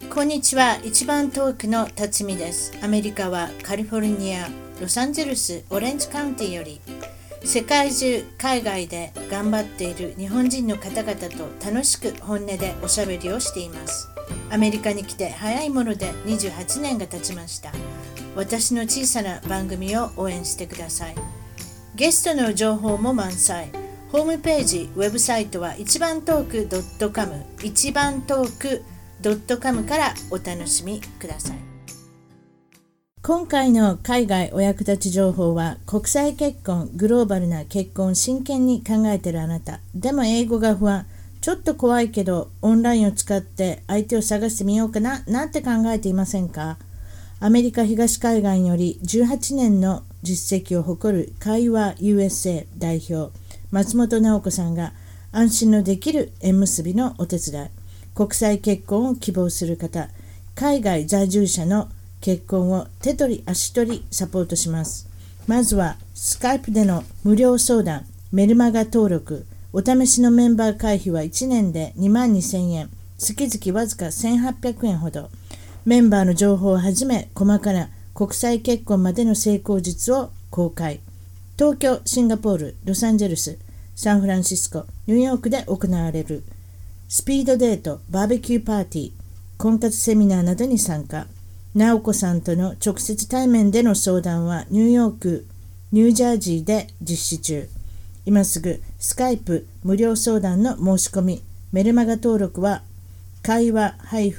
こんにちは。一番遠くの辰巳です。アメリカはカリフォルニア、ロサンゼルス、オレンジカウンティより世界中、海外で頑張っている日本人の方々と楽しく本音でおしゃべりをしています。アメリカに来て早いもので28年が経ちました。私の小さな番組を応援してください。ゲストの情報も満載。ホームページ、ウェブサイトは一番トーク .com 一番トーク.com からお楽しみください。今回の海外お役立ち情報は、国際結婚、グローバルな結婚を真剣に考えているあなた、でも英語が不安、ちょっと怖いけどオンラインを使って相手を探してみようかななんて考えていませんか？アメリカ東海岸より18年の実績を誇る会話 USA 代表松本直子さんが、安心のできる縁結びのお手伝い、国際結婚を希望する方、海外在住者の結婚を手取り足取りサポートします。まずはスカイプでの無料相談、メルマガ登録、お試しのメンバー会費は1年で22,000円、月々わずか1,800円ほど。メンバーの情報をはじめ、細かな国際結婚までの成功術を公開。東京、シンガポール、ロサンゼルス、サンフランシスコ、ニューヨークで行われるスピードデート、バーベキューパーティー、婚活セミナーなどに参加。直子さんとの直接対面での相談はニューヨーク、ニュージャージーで実施中。今すぐスカイプ無料相談の申し込み、メルマガ登録は会話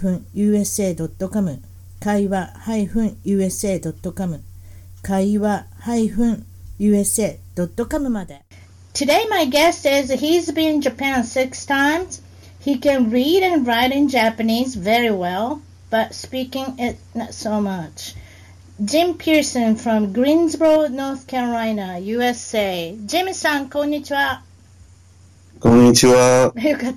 -usa.com 会話 -usa.com 会話 -usa.com まで。Today my guest is he's been in Japan 6 times. He can read and write in Japanese very well, but speaking it not so much. Jim Pearson from Greensboro, North Carolina, USA. Jim さん、こんにちは。 こんにちは。 よかった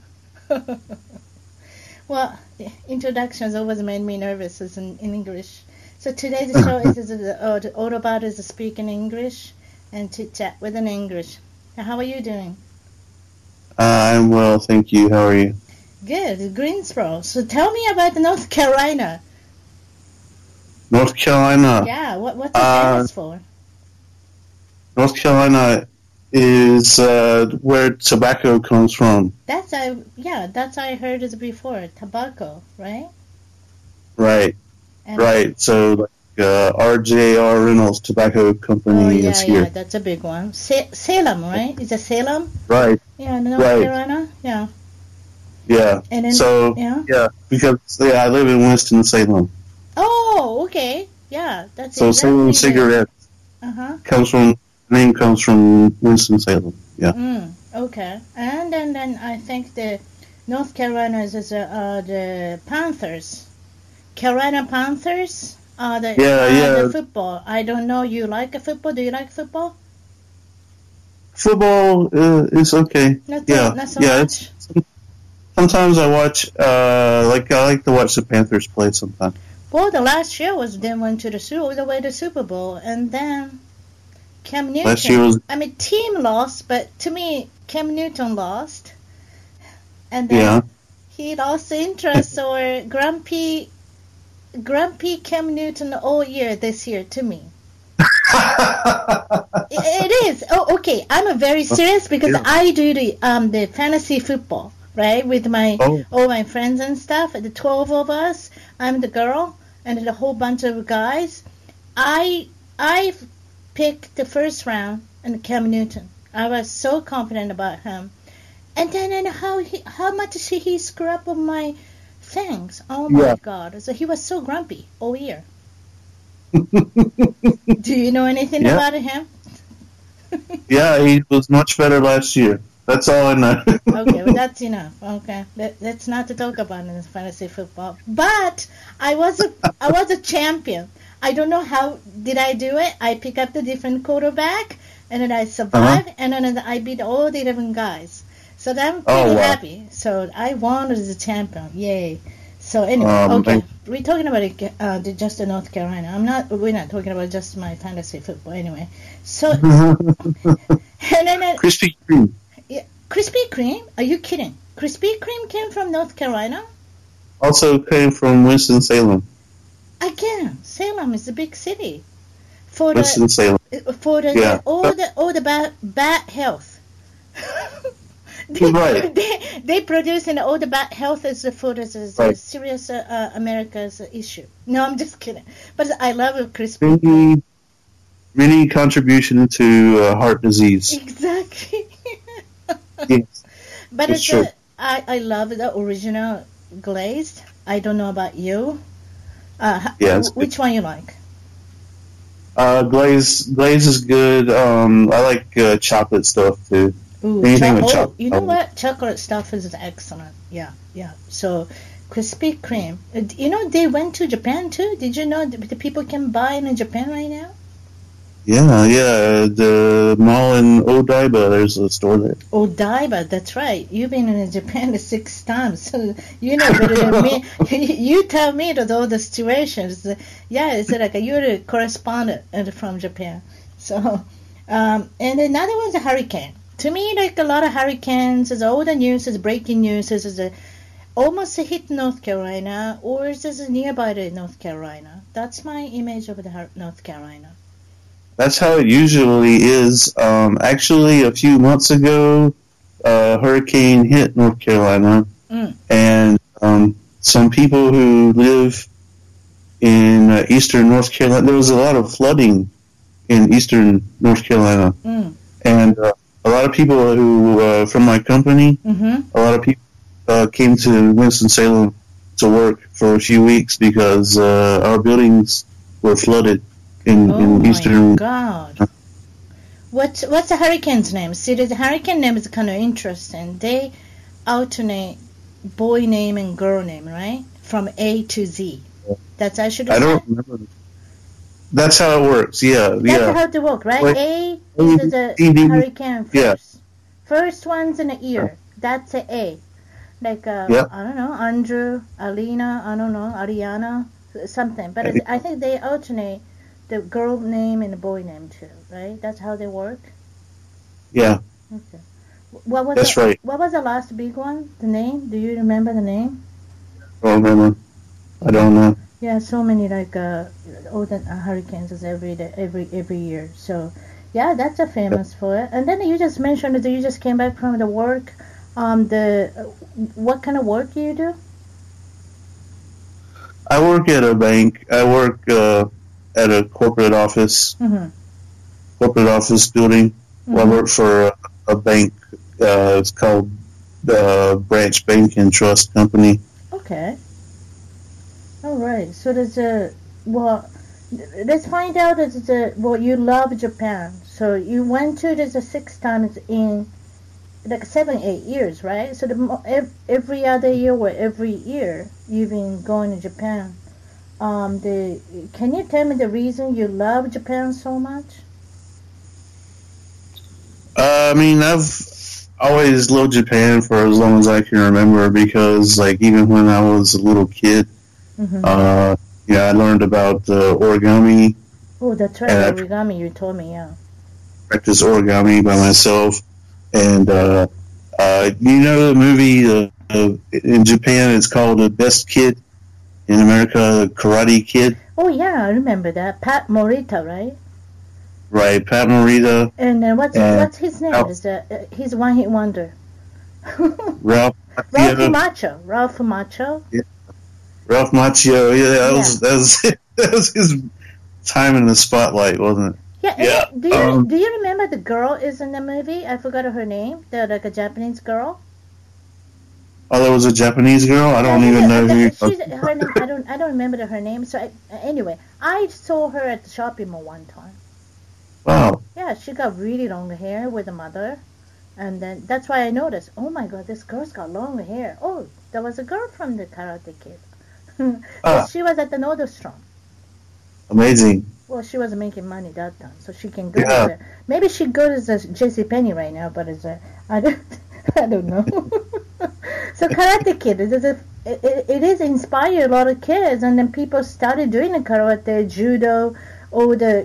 。Well, introductions always made me nervous as in English. So today's show is all about is speaking English and to chat with an English. How are you doing? I'm well, thank you. How are you? Good, Greensboro. So tell me about North Carolina. North Carolina. Yeah, what's it famous for? North Carolina is where tobacco comes from. That's I heard it before. Tobacco, right? Right. Right. So RJR Reynolds Tobacco Company is here. Yeah, that's a big one. Salem, right? Is it Salem? Right. Yeah, North Carolina. Yeah. Yeah. And then, because I live in Winston-Salem. Oh, okay. Yeah, that's so Salem cigarettes name comes from Winston-Salem. Yeah. Okay. And then I think the North Carolina is the Panthers. Carolina Panthers are the football. I don't know. You like football? Do you like football? Football is okay. Not so much. Sometimes I watch. I like to watch the Panthers play sometimes. Well, the last year they went to all the way to Super Bowl, and then Cam Newton. Team lost, but to me, Cam Newton lost, and then he lost interest or grumpy Cam Newton all year this year to me. It is. Oh, okay. I'm very serious because I do the fantasy football, right? With all my friends and stuff. The 12 of us. I'm the girl, and a whole bunch of guys. I picked the first round and Cam Newton. I was so confident about him, and then how much he screwed up on my things. Oh my God! So he was so grumpy all year. Do you know anything about him? Yeah, he was much better last year. That's all I know. Okay, well that's enough. Okay, let's not talk about in fantasy football. But I was a champion. I don't know how did I do it. I pick up the different quarterback, and then I survived, and then I beat all the 11 guys. So I'm pretty happy. So I won as a champion. Yay! So anyway, we're talking about just North Carolina. We're not talking about just my fantasy football anyway. So and then Krispy Kreme. Yeah, Krispy Kreme? Are you kidding? Krispy Kreme came from North Carolina? Also came from Winston-Salem. Again, Salem is a big city. For Winston-Salem. Yeah. all the bad health. Right. They produce all the bad health is for the Right. serious America's issue. No, I'm just kidding. But I love crispy. Many contribution to heart disease. Exactly. Yes. But It's true. I love the original glazed. I don't know about you. Yeah, which one you like? Glaze is good. I like chocolate stuff too. Ooh, Anything with chocolate. you know what? Chocolate stuff is excellent. Yeah. So, Krispy Kreme. You know, they went to Japan too. Did you know the people can buy in Japan right now? Yeah. The mall in Odaiba, there's a store there. Odaiba, that's right. You've been in Japan 6 times, so you know better than me. You tell me all the situations. Yeah, it's like you're a correspondent from Japan. So, and another one's a hurricane. To me, like a lot of hurricanes, all the news is breaking news is almost hit North Carolina, or is this nearby to North Carolina? That's my image of the North Carolina. That's how it usually is. Actually, a few months ago, a hurricane hit North Carolina, and some people who live in eastern North Carolina, there was a lot of flooding in eastern North Carolina, and a lot of people who from my company, a lot of people came to Winston-Salem to work for a few weeks because our buildings were flooded in eastern. Oh my God! What's the hurricane's name? See, the hurricane name is kind of interesting. They alternate boy name and girl name, right? From A to Z. That's I should. I don't remember. That's how it works. Yeah. That's how it works, right? Like, A is the hurricane first. Yeah. First one's in the ear. That's a A. Like I don't know, Andrew, Alina, I don't know, Ariana, something. But I think they alternate the girl name and the boy name too, right? That's how they work. Yeah. Okay. That's right. What was the last big one? The name? Do you remember the name? I don't remember. I don't know. Yeah, so many like all the hurricanes is every year. So yeah, that's a famous for it. And then you just mentioned that you just came back from the work. What kind of work do you do? I work at a bank. I work at a corporate office. Corporate office building. Well, I work for a bank. It's called the Branch Bank and Trust Company. Okay. All right. So there's let's find out. You love Japan. So you went to 6 times in like 7-8 years, right? So every other year or every year you've been going to Japan. Can you tell me the reason you love Japan so much? I mean, I've always loved Japan for as long as I can remember because, like, even when I was a little kid, I learned about origami. Oh, that's right, origami. You told me, yeah. Practice origami by myself, and you know the movie in Japan. It's called The Best Kid. In America, Karate Kid. Oh yeah, I remember that. Pat Morita, right? Right, Pat Morita. And what's his name? He's one hit wonder. Ralph Macchio. Ralph Macchio. Yeah. Ralph Macchio. Yeah, that was his time in the spotlight, wasn't it? Yeah. Do you remember the girl is in the movie? I forgot her name. Like a Japanese girl. Oh, there was a Japanese girl. I don't even know who. Her name, I don't remember her name. So anyway, I saw her at the shopping mall one time. Wow. Yeah, she got really long hair with a mother, and then that's why I noticed. Oh my God, this girl's got long hair. Oh, there was a girl from the Karate Kid. She was at the Nordstrom. Amazing. Well, she was making money that time, so she can go there. Maybe she goes to JCPenney right now, but I don't know. So Karate Kid, it is inspired a lot of kids, and then people started doing the karate, judo, or the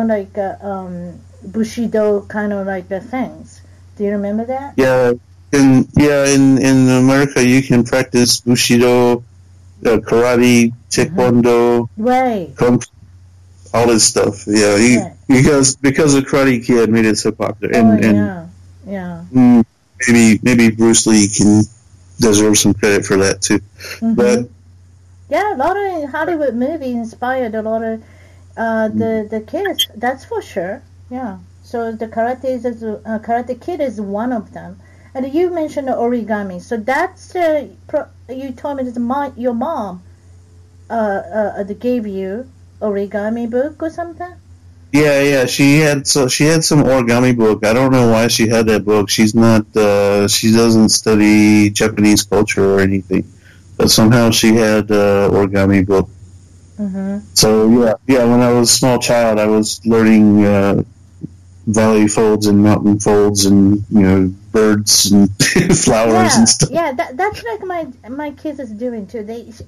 bushido kind of like the things. Do you remember that? Yeah, in America you can practice bushido karate, taekwondo, right, kung fu, all this stuff. Yeah, because the Karate Kid made it so popular, and maybe Bruce Lee can deserve some credit for that too. But a lot of Hollywood movies inspired a lot of the kids. That's for sure. Yeah. So the Karate Kid is one of them. And you mentioned origami. So that's you told me that your mom gave you origami book or something. Yeah. She had some origami book. I don't know why she had that book. She's not. She doesn't study Japanese culture or anything, but somehow she had origami book. So when I was a small child, I was learning valley folds and mountain folds and birds and flowers and stuff. Yeah, that's like my kids is doing too.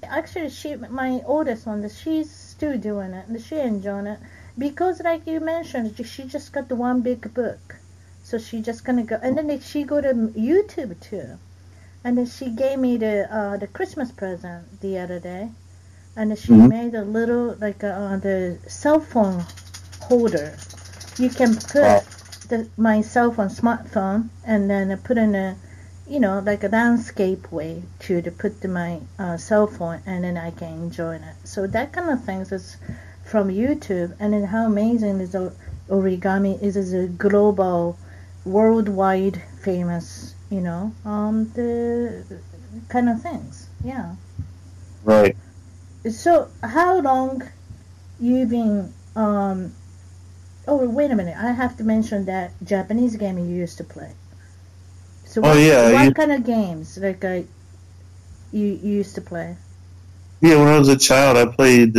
My oldest one, she's still doing it and she enjoying it because, like you mentioned, she just got the one big book, so she just gonna go and then she go to YouTube too, and then she gave me the Christmas present the other day, and then she made a little the cell phone holder. You can put my cell phone, smartphone, and then put in a landscape way to put my cell phone, and then I can enjoy it. So that kind of things is from YouTube, and then how amazing is origami is a global, worldwide famous, the kind of things. Yeah. Right. So how long you been Oh, wait a minute. I have to mention that Japanese game you used to play. So what kind of games you used to play? Yeah, when I was a child, I played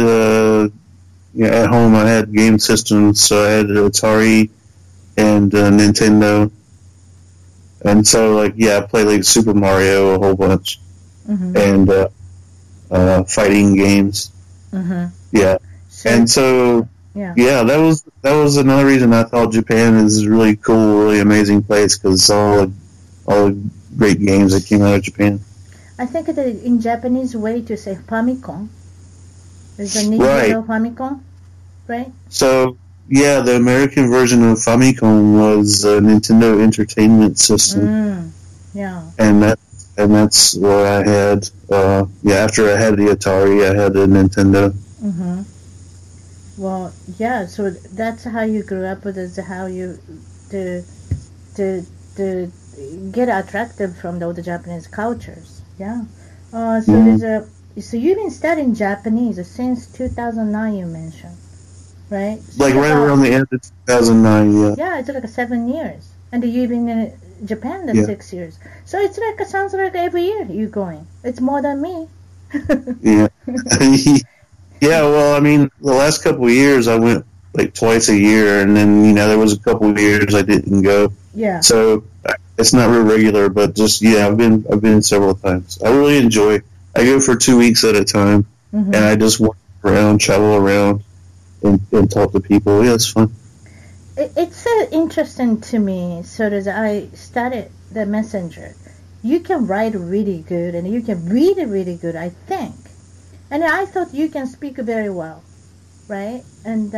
at home. I had game systems, so I had Atari and Nintendo. And so, I played Super Mario a whole bunch. And fighting games. Yeah. And so... Yeah, that was another reason I thought Japan is a really cool, really amazing place because all the great games that came out of Japan. I think that in Japanese way to say Famicom is a Nintendo Famicom, right? So the American version of Famicom was a Nintendo Entertainment System. And that's what I had. After I had the Atari, I had the Nintendo. Well, so that's how you grew up with it, how you to get attracted from the Japanese cultures. Yeah. So you've been studying Japanese since 2009, you mentioned, right? So right around the end of 2009, yeah. Yeah, it's 7 years. And you've been in Japan 6 years. So it's sounds like every year you're going. It's more than me. Yeah. Yeah, well, I mean, the last couple of years I went twice a year, and then there was a couple of years I didn't go. Yeah. So it's not real regular, but just I've been several times. I really enjoy. I go for 2 weeks at a time, and I just walk around, travel around, and talk to people. Yeah, it's fun. It's interesting to me. So as I studied the Messenger, you can write really good, and you can read really good, I think. And I thought you can speak very well, right? And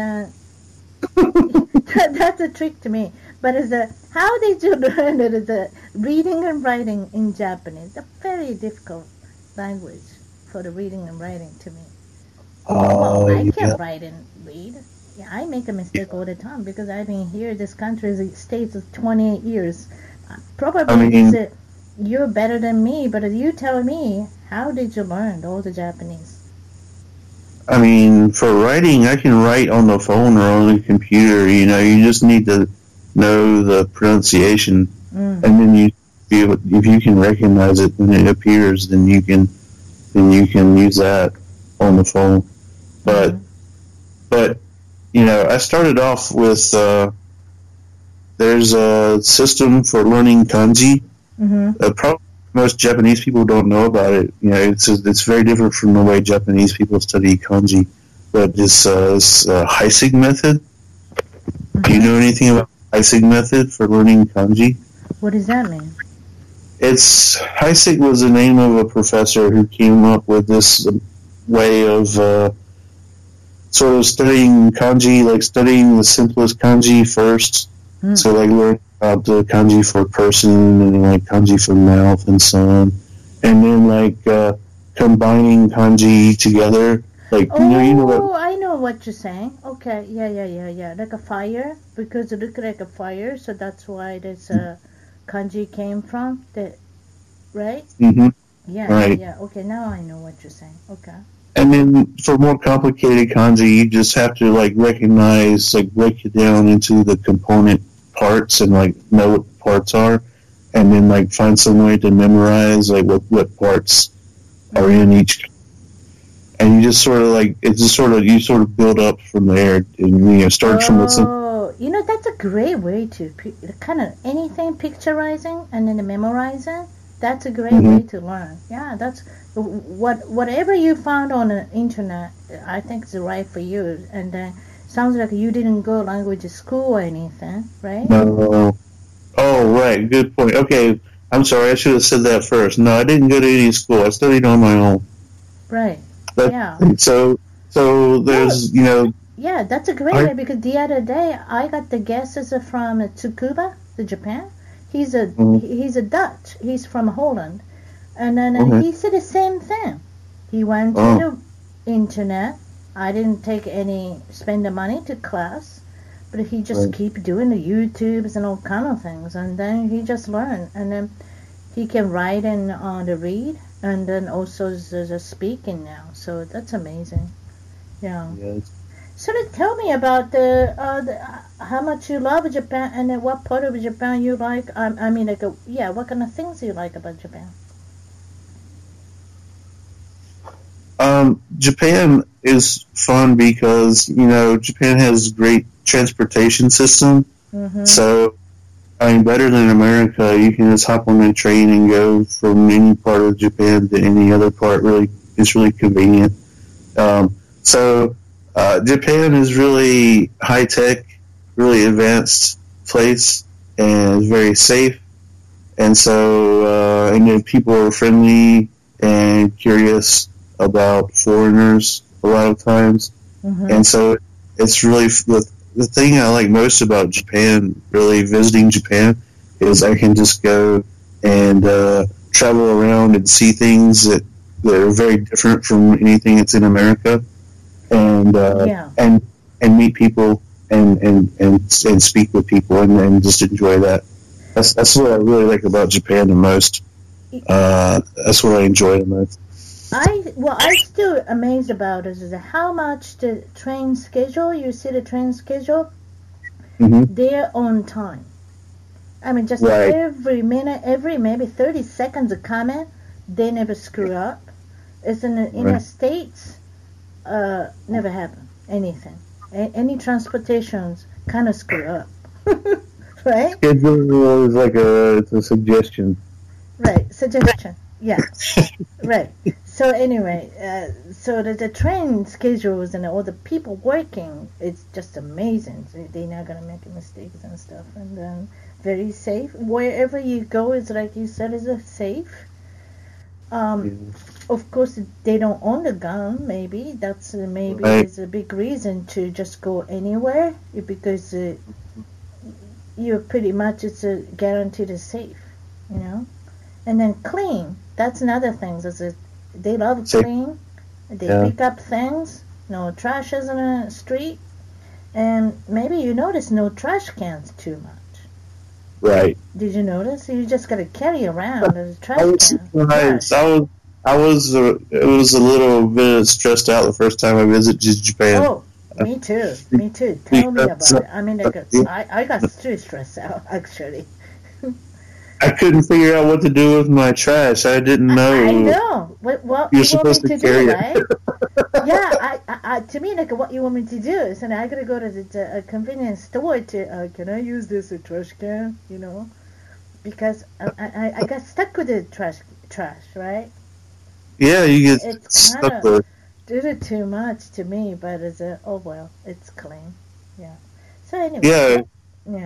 that's a trick to me. But how did you learn the reading and writing in Japanese? It's a very difficult language for the reading and writing to me. I can't write and read. Yeah, I make a mistake all the time because I've been here. This country stays 28 years. Probably you're better than me, but you tell me, how did you learn all the Japanese? I mean, for writing, I can write on the phone or on the computer. You just need to know the pronunciation, and then if you can recognize it when it appears, then you can use that on the phone. But I started off with there's a system for learning kanji. Probably most Japanese people don't know about it. It's very different from the way Japanese people study kanji. But it's Heisig method. Do you know anything about Heisig method for learning kanji? What does that mean? Heisig was the name of a professor who came up with this way of sort of studying kanji, like studying the simplest kanji first. So like learn about the kanji for person and like kanji for mouth and so on, and then like combining kanji together. Like you know what, I know what you're saying. Okay, yeah. Like a fire, because it looked like a fire, so that's why this kanji came from. Right? Mm-hmm. Yeah, right. Yeah. Okay, now I know what you're saying. Okay. And then for more complicated kanji, you just have to like recognize, like break it down into the component parts and like know what parts are, and then like find some way to memorize like what parts are in each. And you just sort of like you sort of build up from there, and start from the. Oh, that's a great way to kind of anything picturizing and then memorizing. That's a great way to learn. Yeah, that's whatever you found on the internet. I think is right for you. And sounds like you didn't go language school or anything, right? No. Oh, right. Good point. Okay, I'm sorry. I should have said that first. No, I didn't go to any school. I studied on my own. Right. Yeah. So there's Yeah, that's a great way, because the other day I got the guesses from Tsukuba, the Japan. He's a Dutch. He's from Holland, and then he said the same thing. He went to the internet. I didn't spend the money to class, but he just keep doing the YouTubes and all kind of things, and then he just learned, and then he can write and the read, and then also the speaking now. So that's amazing. Yeah. Yes. So tell me about how much you love Japan, and then what part of Japan you like. I mean, what kind of things you like about Japan? Japan is fun because Japan has great transportation system. Mm-hmm. So, I mean, better than America, you can just hop on a train and go from any part of Japan to any other part. Really, it's really convenient. Japan is really high tech, really advanced place, and very safe. And so, and then people are friendly and curious about foreigners a lot of times. Mm-hmm. And so, it's really the thing I like most about Japan, really visiting Japan, is I can just go and travel around and see things that are very different from anything that's in America. And and meet people and speak with people and just enjoy that. That's what I really like about Japan the most. That's what I enjoy the most. I'm still amazed about is how much the train schedule. You see the train schedule, they're on time. I mean, just every minute, every maybe 30 seconds of comment, they never screw up. It's in the States. Never happen. Anything. Any transportations kind of screw up. Right? Schedule is like it's a suggestion. Right. Suggestion. Yeah. Right. So anyway, so the train schedules and all the people working, it's just amazing. So they're not going to make mistakes and stuff. And then very safe. Wherever you go, is like you said, is safe. Of course, they don't own the gun. Maybe that's is a big reason to just go anywhere, because you're pretty much it's guaranteed is safe, And then clean. That's another thing. They love clean. They pick up things. No trash is in the street, and maybe you notice no trash cans too much. Right. Did you notice? You just got to carry around a trash can. I was a little bit stressed out the first time I visited Japan. Oh, me too. Tell me about it. I mean, I got too stressed out, actually. I couldn't figure out what to do with my trash. I didn't know. I know. What you're supposed to carry do, right? Yeah, I to me, like, what you want me to do is, I got to go to the convenience store to, can I use this trash can, Because I got stuck with the trash, right? Yeah, you get stuck with it. Did it too much to me, but it's it's clean. Yeah. So anyway. Yeah.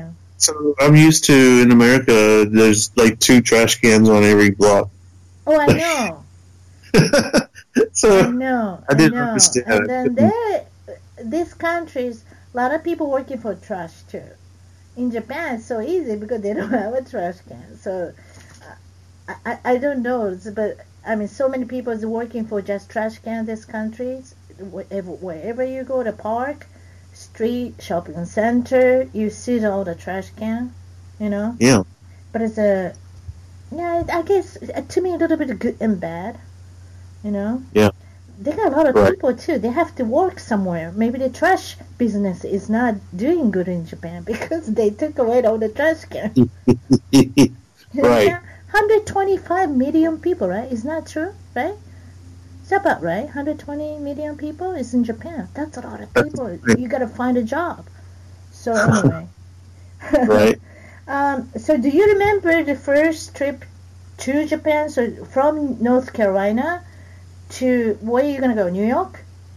So I'm used to, in America, there's like 2 trash cans on every block. Oh, I know. So I know. I didn't understand. And then these countries, a lot of people working for trash too. In Japan, it's so easy because they don't have a trash can. So I don't know, but I mean, so many people is working for just trash can. These countries, wherever you go, the park, street, shopping center, you see all the trash can, you know. Yeah. But it's I guess to me a little bit good and bad, you know. Yeah. They got a lot of people too. They have to work somewhere. Maybe the trash business is not doing good in Japan because they took away all the trash cans. Right. 125 million people, right? Is that true, right? Is that about right? 120 million people is in Japan. That's a lot of people. You got to find a job. So anyway. Right. So do you remember the first trip to Japan? So from North Carolina to, where are you going to go, New York?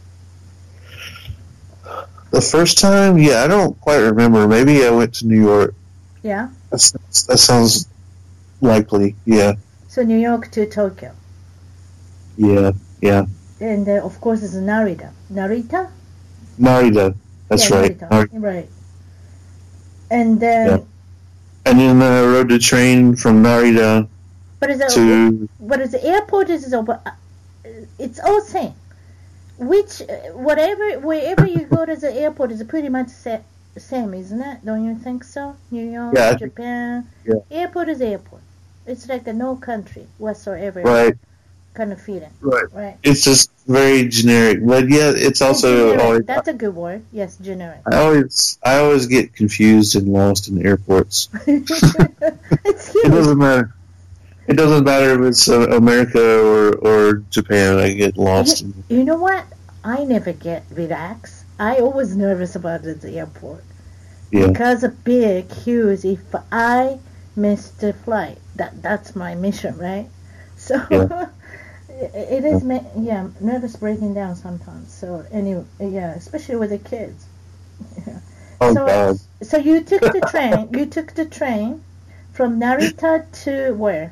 The first time? Yeah, I don't quite remember. Maybe I went to New York. Yeah. That sounds likely, yeah. So New York to Tokyo. Yeah. And of course it's Narita. Narita? Narita. That's right. Narita. Right. And then... Yeah. And then I rode the train from Narita But the airport is over. It's all same. Wherever you go to the airport is pretty much same, isn't it? Don't you think so? New York, Japan. Yeah. Airport is airport. It's like no country whatsoever. Right. Kind of feeling. Right. It's just very generic, but yeah, it's also always. That's a good word. Yes, generic. I always get confused and lost in airports. It's huge. It doesn't matter. It doesn't matter if it's America or Japan. I get lost. You know what? I never get relaxed. I always nervous about the airport. Yeah. Because of big, huge. If I miss the flight, that's my mission, right? So it is. Nervous breaking down sometimes. So anyway, especially with the kids. Yeah. Oh God. So you took the train. You took the train from Narita to where?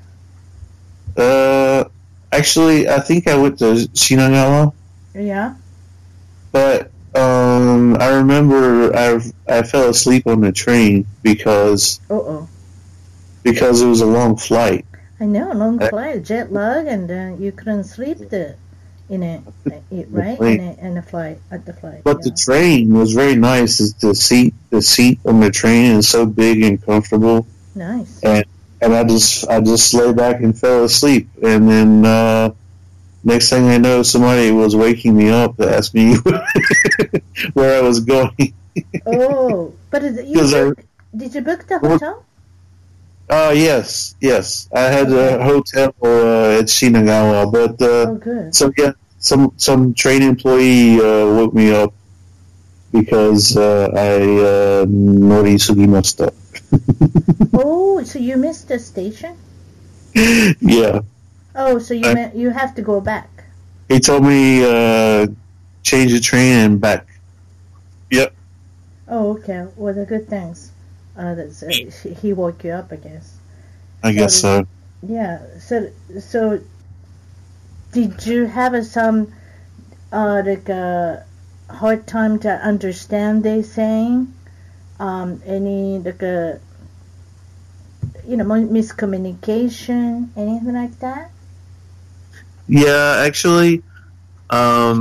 Actually, I think I went to Shinagawa. Yeah. But I remember I fell asleep on the train because it was a long flight. I know, long flight, jet lag, and you couldn't sleep in the flight. But the train was very nice. The seat on the train is so big and comfortable. Nice. And I just lay back and fell asleep, and then next thing I know, somebody was waking me up to ask me where I was going. Oh, but did you book the hotel? Yes. I had a hotel at Shinagawa, but good. So yeah, some train employee woke me up because I nori sugimashita. Oh, so you missed the station? Yeah. Oh, so you have to go back. He told me change the train and back. Yep. Oh, okay. Well, the good things. He woke you up, I guess. I guess so. Yeah. So did you have some hard time to understand they saying? Any miscommunication, anything like that? Yeah, actually, a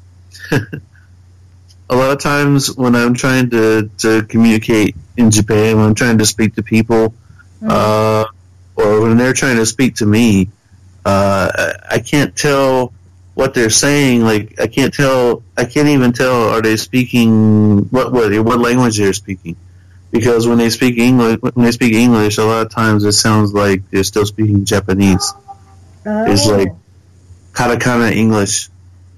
lot of times when I'm trying to communicate in Japan, when I'm trying to speak to people, or when they're trying to speak to me, I can't tell what they're saying. Like I can't even tell are they speaking what language they're speaking, because when they speak English, a lot of times it sounds like they're still speaking Japanese. Oh. It's like katakana English.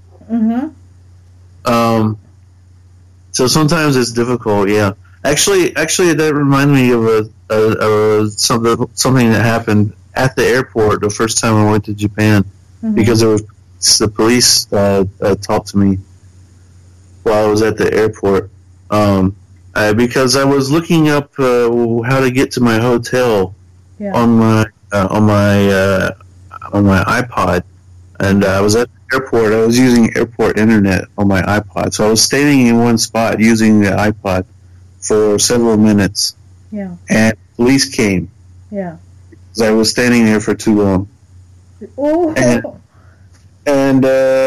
So sometimes it's difficult. Yeah, actually, that reminded me of something that happened at the airport the first time I went to Japan, because the police talked to me while I was at the airport. because I was looking up how to get to my hotel on my iPod, and I was at the airport. I was using airport internet on my iPod, so I was standing in one spot using the iPod for several minutes. Yeah. And police came. Yeah. Because I was standing there for too long. Oh. And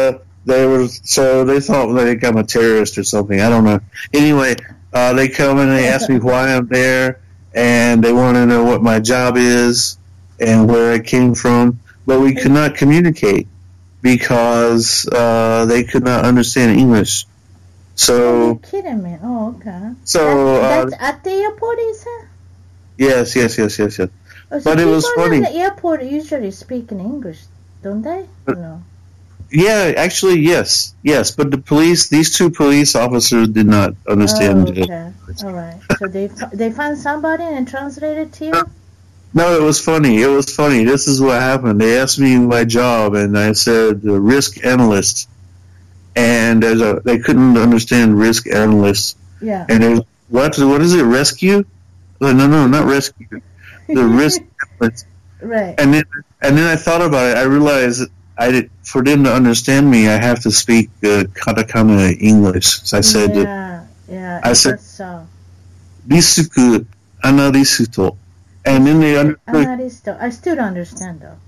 they thought like I'm a terrorist or something. I don't know. Anyway, they come and they ask me why I'm there, and they want to know what my job is and where I came from. But we could not communicate because they could not understand English. So. You're kidding me. Oh, okay. So. That's at the airport, is it? Yes. Oh, so but it was funny. People at the airport usually speak in English, don't they? No. Yeah, actually, yes. But these two police officers did not understand. Oh, okay. All right. So they found somebody and translated to you? No, it was funny. This is what happened. They asked me my job, and I said risk analyst. And they couldn't understand risk analyst. Yeah. And what is it, rescue? No, not rescue. The risk analyst. Right. And then I thought about it. I realized for them to understand me, I have to speak katakana English. So I said, I said, so. Risuku analisto. And then they understood. I still don't understand though.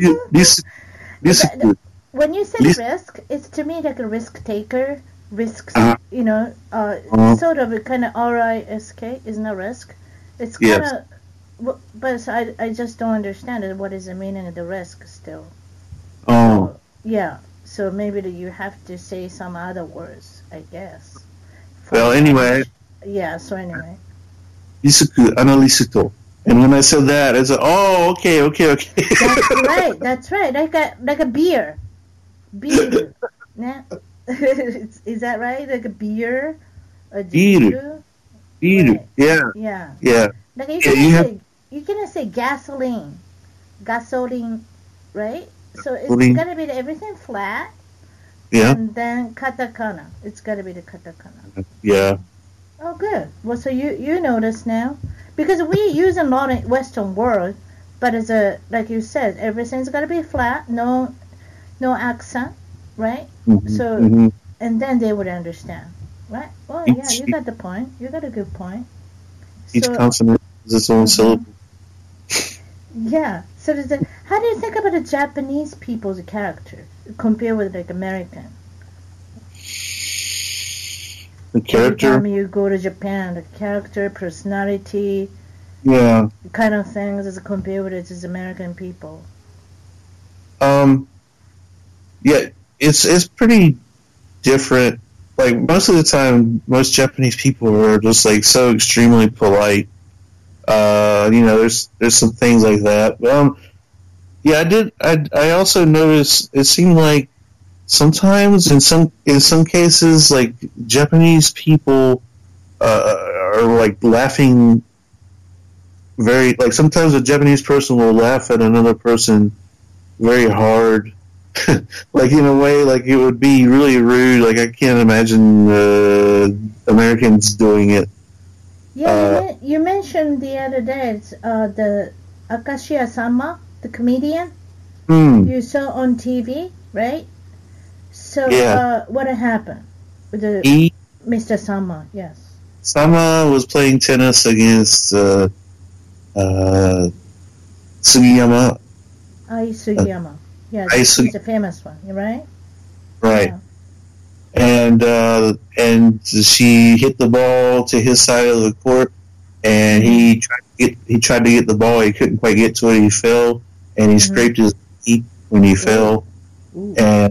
Risuku. When you say risk, it's to me like a risk taker. Risks, sort of a kind of risk, isn't a risk? It's kind of, but I just don't understand it. What is the meaning of the risk still? Oh. So maybe you have to say some other words, I guess. Well, anyway. Yeah, so anyway. Risuku analysto. And when I said that, I said, oh, okay. That's right. Like a beer. Beer. Yeah. Is that right? Like a beer? Beer. Right. Yeah. Like you can say gasoline, right? So it's gotta be everything flat. Yeah. And then katakana. It's gotta be the katakana. Yeah. Oh, good. Well, so you notice now, because we use a lot in Western world, but like you said, everything's gotta be flat, no accent, right? Mm-hmm. So and then they would understand, right? Well, yeah, you got the point. You got a good point. Each consonant is its own syllable. Yeah. So how do you think about the Japanese people's character compared with like American? The character. Every time you go to Japan, the character, personality, kind of things as compared with its American people. Yeah, it's pretty different. Like most of the time, most Japanese people are just like so extremely polite. There's some things like that. I also noticed it seemed like sometimes in some cases, like Japanese people are like laughing very, like sometimes a Japanese person will laugh at another person very hard. Like in a way, like it would be really rude. Like I can't imagine Americans doing it. Yeah, you mentioned the other day the Akashia Sama, the comedian. You saw on TV, right? So what happened with Mr. Sama? Yes. Sama was playing tennis against Sugiyama. Sugiyama. Yeah, he's a famous one, right? Right. Yeah. And she hit the ball to his side of the court, and he tried to get the ball. He couldn't quite get to it. He fell, and he scraped his knee when he fell. And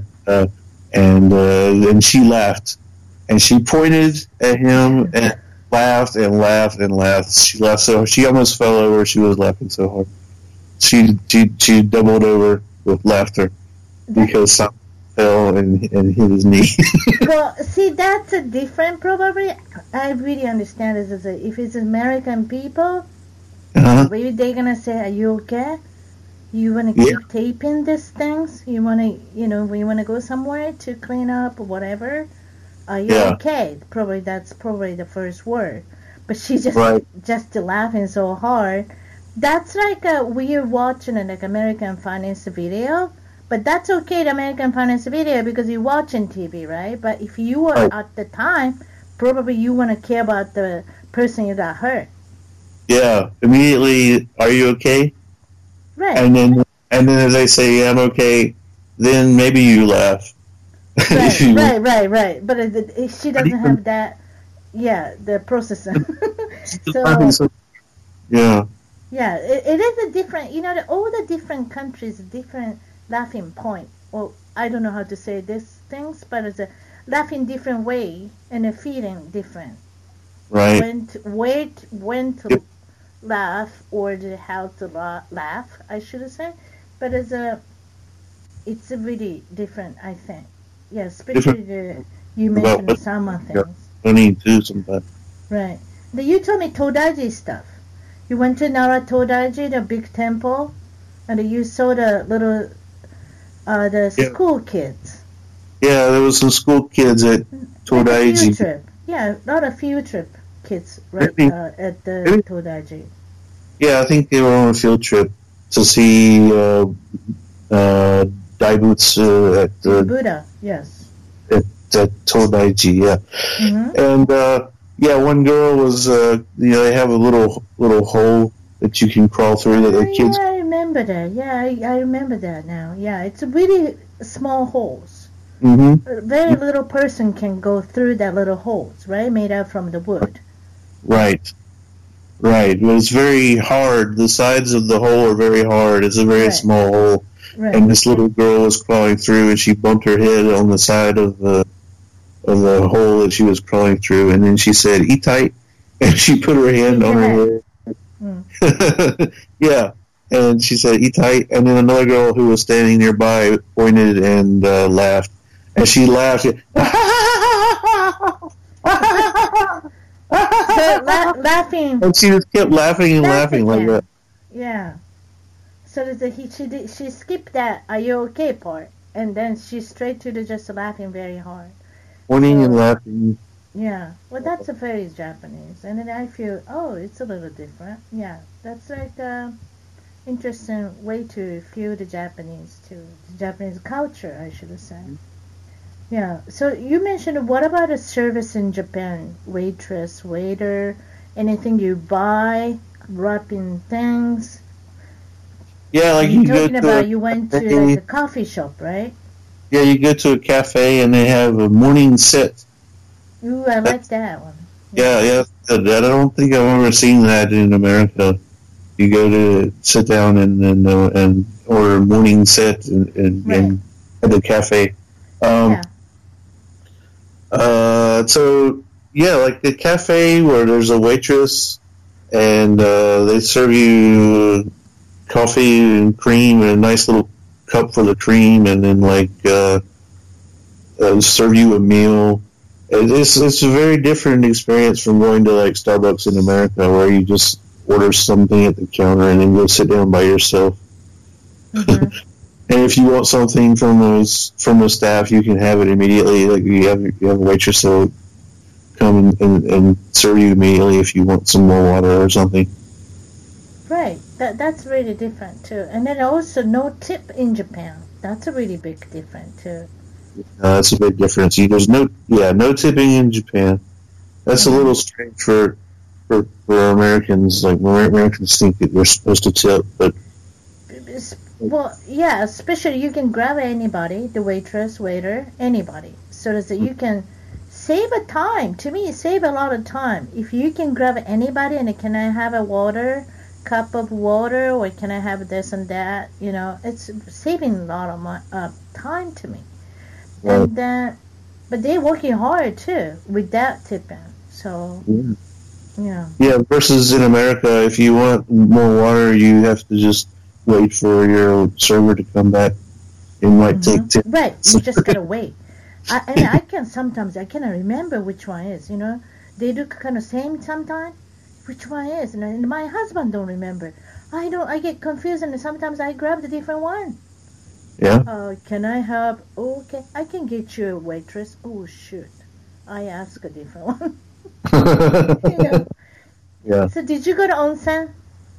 she laughed, and she pointed at him and laughed and laughed and laughed. She laughed so she almost fell over. She was laughing so hard. She doubled over with laughter because some fell and hit his knee. Well, see, that's a different. Probably, I really understand this. If it's American people, maybe they're gonna say, "Are you okay? You wanna keep taping these things? You wanna, you wanna go somewhere to clean up or whatever? Are you okay?" That's probably the first word. but she just laughing so hard. That's like we're watching like American Finance video, but that's okay, the American Finance video, because you're watching TV, right? But if you were at the time, probably you want to care about the person you got hurt. Yeah, immediately, are you okay? Right. And then if they say, yeah, I'm okay, then maybe you laugh. Right. But she doesn't have that, the processing. So, yeah. Yeah, it is a different, all the different countries, different laughing point. Well, I don't know how to say these things, but it's a laughing different way and a feeling different. Right. When to laugh or how to laugh, I should say. But it's a really different, I think. Yeah, especially you mentioned some things. Funny too sometimes. Right. You told me Todaiji stuff. You went to Nara Todaiji, the big temple, and you saw the little, school kids. Yeah, there was some school kids at Todaiji. A lot of field trip kids, right, at the Todaiji. Yeah, I think they were on a field trip to see Daibutsu at the Buddha, yes. At Todaiji, yeah. Mm-hmm. And one girl was, they have a little hole that you can crawl through that the kids. Yeah, I remember that. Yeah, I remember that now. Yeah, it's really small holes. Mm-hmm. A very little person can go through that little holes, right? Made out from the wood. Right. But it's very hard. The sides of the hole are very hard. It's a very small hole. Right. And this little girl was crawling through, and she bumped her head on the side of the hole that she was crawling through, and then she said, "Eat tight," and she put her hand on her head. Yeah, and she said, "Eat tight," and then another girl who was standing nearby pointed and laughed, and she laughed. Laughing. And she just kept laughing and laughing like that. Yeah. So she skipped that "Are you okay" part, and then she's straight to the just laughing very hard. Pointing and laughing. Yeah. Well, that's a very Japanese, and then I feel, it's a little different. Yeah, that's like interesting way to feel the Japanese too, the Japanese culture, I should say. Yeah. So you mentioned, what about a service in Japan? Waitress, waiter, anything you buy, wrapping things. Yeah, like you went to like a coffee shop, right? Yeah, you go to a cafe and they have a morning set. Ooh, I like that one. Yeah. I don't think I've ever seen that in America. You go to sit down and order a morning set and at the cafe. So like the cafe where there's a waitress and they serve you coffee and cream and a nice little cup for the cream, and then serve you a meal. It's a very different experience from going to like Starbucks in America, where you just order something at the counter and then go sit down by yourself. Mm-hmm. And if you want something from the staff, you can have it immediately. Like you have a waitress that will come and serve you immediately if you want some more water or something. Right. That's really different too. And then also no tip in Japan. That's a really big difference too. That's a big difference. There's no tipping in Japan. That's a little strange for Americans. Like Americans think that we're supposed to tip, but well, yeah, especially you can grab anybody, the waitress, waiter, anybody, so that you can save a time. To me, save a lot of time. If you can grab anybody and can I have a cup of water, or can I have this and that? It's saving a lot of time to me. Right. And but they're working hard too with that tipping. So yeah. Versus in America, if you want more water, you have to just wait for your server to come back. It might take 10 Right, you just gotta wait. I cannot remember which one is. They do kind of same sometimes. Which one is? And my husband don't remember. I get confused, and sometimes I grab the different one. Yeah. Can I have? Okay, I can get you a waitress. Oh shoot, I ask a different one. Yeah. So did you go to onsen?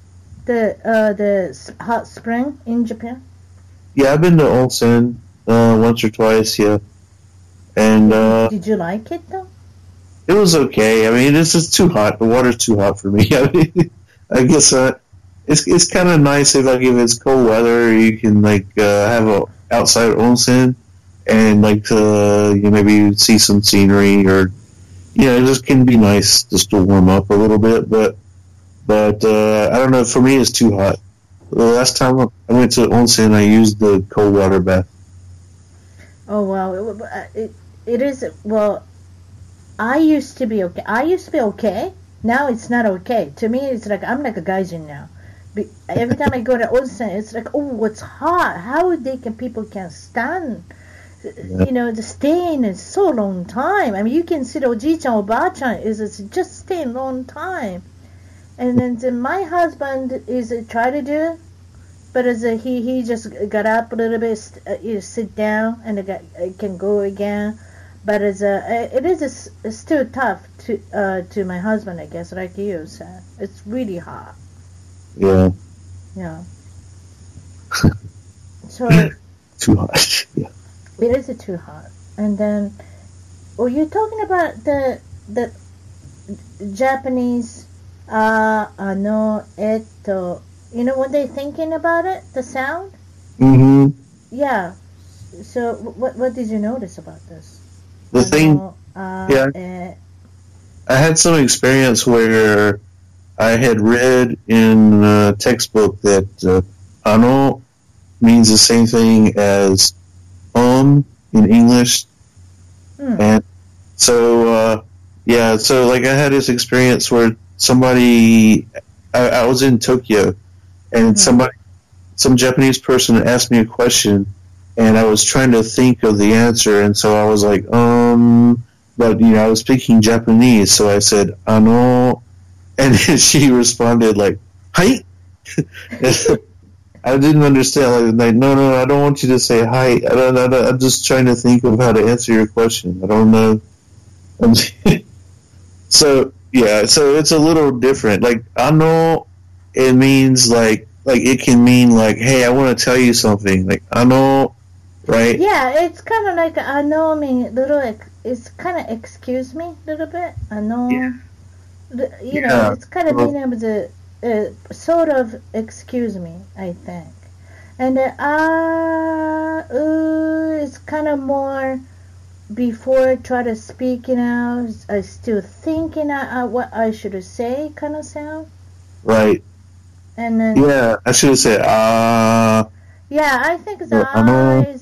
The hot spring in Japan? Yeah, I've been to onsen once or twice, yeah. And did you like it though? It was okay. I mean, it's just too hot. The water's too hot for me. I mean, I guess it's kind of nice if it's cold weather, you can have a outside onsen and maybe see some scenery, or it just can be nice just to warm up a little bit. But I don't know. For me, it's too hot. The last time I went to onsen, I used the cold water bath. Oh wow, it is. Well, I used to be okay. Now it's not okay. To me, it's like I'm like a gaijin now. Every time I go to onsen, it's like, oh, it's hot. How people can stand? The staying is so long time. I mean, you can see the oji-chan, oba-chan is just staying long time. And then my husband is try to do it, but he just got up a little bit, sit down, and can go again. But it is still tough to my husband, I guess, like you said. It's really hot. Yeah. Yeah. So too hot. Yeah. It is too hot. And then, you're talking about the Japanese. When they're thinking about it, the sound. Mm-hmm. Yeah. So what did you notice about this? The thing. I had some experience where I had read in a textbook that ano means the same thing as in English. And so I had this experience where I was in Tokyo, and some Japanese person asked me a question, and I was trying to think of the answer, and so I was like, but I was speaking Japanese, so I said ano, and she responded like, hi. I didn't understand. Like, no, I don't want you to say hi. I'm just trying to think of how to answer your question. I don't know. So it's a little different. Like, ano, it means like it can mean like, hey, I want to tell you something. Like, ano, right? Yeah, it's kind of like ano, I mean, it's kind of excuse me, a little bit. Ano, it's kind of meaning of the sort of excuse me, I think. And it's kind of more before try to speak, I still thinking what I should say, kind of sound. Right. And then I should have said yeah, I think the eyes.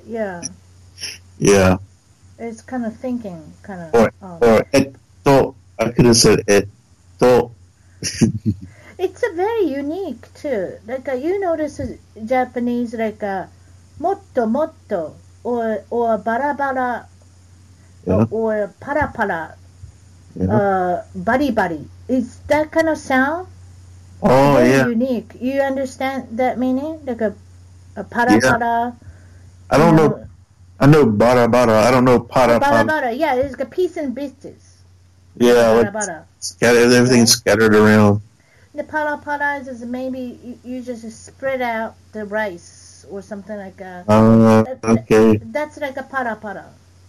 Yeah. It's kind of thinking, kind of. Or etto. I could have said etto. It's a very unique too. Like you notice Japanese like motto motto or bara bara or para para, bari bari. Is that kind of sound? Oh, very unique. You understand that meaning? Like a para para. I don't know. I know bara bara. I don't know para para. Bara bara. Yeah, it's like a piece and pieces. Yeah, like everything's scattered around. The para para is maybe you just spread out the rice or something like that. Okay. That's like a para para.